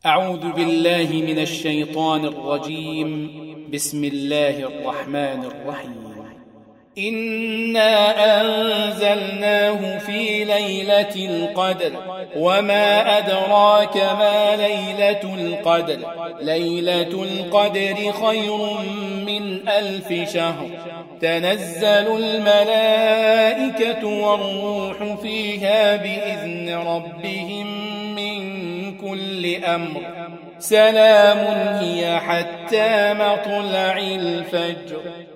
أعوذ بالله من الشيطان الرجيم. بسم الله الرحمن الرحيم. إنا أنزلناه في ليلة القدر وما أدراك ما ليلة القدر. ليلة القدر خير من 1000 شهر. تنزل الملائكة والروح فيها بإذن ربهم من كل أمر. سلام هي حتى مطلع الفجر.